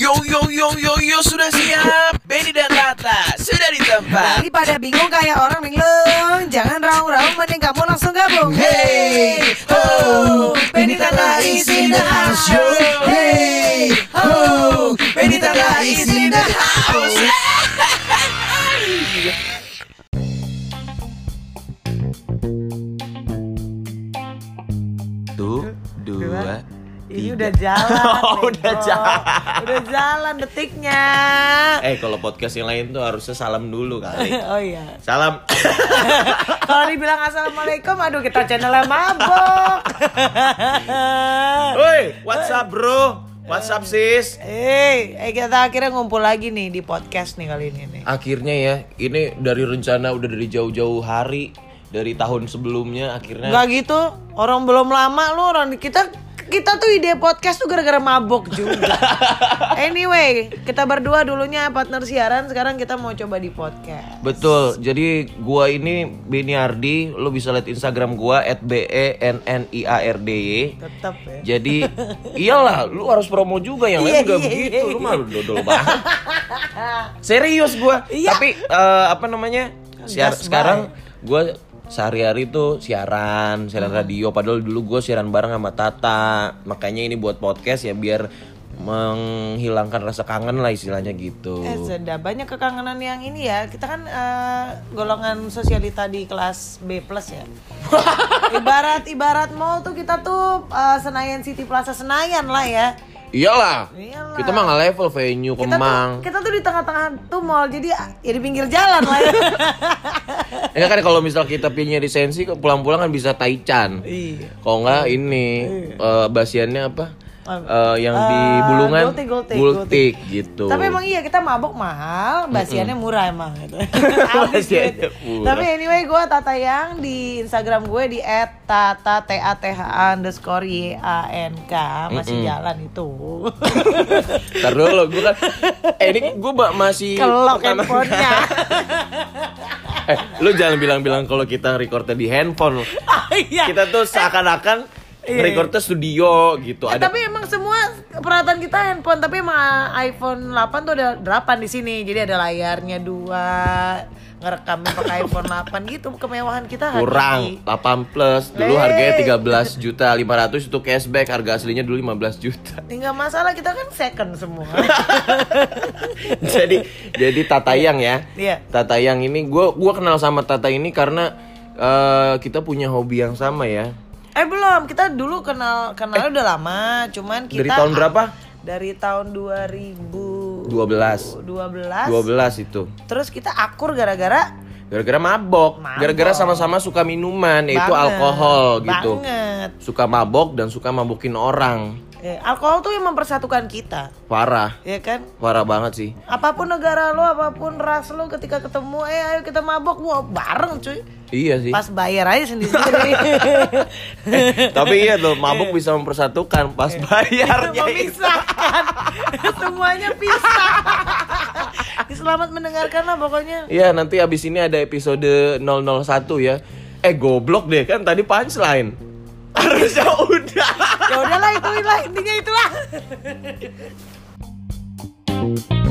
Yo, sudah siap. Benny dan Tata sudah di tempat. Daripada bingung kayak orang linglung, jangan raung-raung, mending kamu langsung gabung. Hey, ho, Benny Tata is in the house. Yo, hey, ho, Benny Tata is in the house. Dua. Ini udah jalan. Oh, udah jalan. Udah jalan detiknya. Kalau podcast yang lain tuh harusnya salam dulu kali. Oh iya. Salam. Kalau dibilang assalamualaikum, aduh kita channelnya mabok. Woi, what's up bro? What's up sis? Kita akhirnya ngumpul lagi nih di podcast nih kali ini nih. Akhirnya ya, ini dari rencana udah dari jauh-jauh hari, dari tahun sebelumnya akhirnya. Gak gitu, orang belum lama lu, orang kita tuh ide podcast tuh gara-gara mabok juga. Anyway, kita berdua dulunya partner siaran, sekarang kita mau coba di podcast. Betul. Jadi gua ini Benny Ardi, lo bisa lihat Instagram gua @benniardy. Tetap ya. Jadi iyalah, lu harus promo juga, yang lain juga begitu. Lu malu dodol banget. Serius gua. Iya. Tapi sekarang gua sehari-hari tuh siaran radio. Padahal dulu gue siaran bareng sama Tata. Makanya ini buat podcast ya, biar menghilangkan rasa kangen lah istilahnya gitu. Sudah banyak kekangenan yang ini ya. Kita kan golongan sosialita di kelas B+ ya. Ibarat mall tuh kita tuh Senayan City Plaza Senayan lah ya. Iyalah. Kita mah nggak level venue Kemang. Kita tuh di tengah-tengah tuh mall, jadi ya di pinggir jalan lah ya. Ya kan kalau misal kita pilihnya di Sensi, pulang-pulang kan bisa Taichan. Iya. Kalau nggak ini basiannya apa? Yang di Bulungan Gultik gitu. Tapi emang iya, kita mabok mahal, basiannya murah emang gitu. Basiannya murah. Tapi anyway, gue Tata Yang di Instagram gue di @tata_yank masih jalan itu. Ntar dulu gue kan ini gue masih kelok handphonenya. Lu jangan bilang-bilang kalau kita recordnya di handphone. Iya. Kita tuh seakan-akan recordnya studio gitu. Tapi emang semua peralatan kita handphone, tapi emang iPhone 8 tuh ada 8 di sini. Jadi ada layarnya 2, ngerekamnya pakai iPhone 8 gitu. Kemewahan kita kurang 8 plus. Dulu harganya 13.500.000 itu cashback, harga aslinya dulu 15 juta. Enggak masalah, kita kan second semua. jadi Tata Yang ya. Iya. Tata Yang ini gua kenal sama Tata ini karena kita punya hobi yang sama ya. Belum, kita dulu kenalnya udah lama, cuman kita dari tahun berapa? Dari tahun 2012 itu. Terus kita akur gara-gara mabok. Gara-gara sama-sama suka minuman, yaitu alkohol gitu. Banget. Suka mabok dan suka mabokin orang. Alkohol tuh yang mempersatukan kita. Parah. Iya kan? Parah banget sih. Apapun negara lo, apapun ras lo, ketika ketemu, ayo kita mabok, bareng cuy. Iya sih. Pas bayar aja sendiri. Tapi iya tuh, mabuk bisa mempersatukan. Pas bayarnya memisahkan. Semuanya pisah. Selamat mendengarkan lah pokoknya. Iya, nanti abis ini ada episode 001 ya. Goblok deh, kan tadi punchline. Harusnya udah. Ya udahlah, intinya itulah.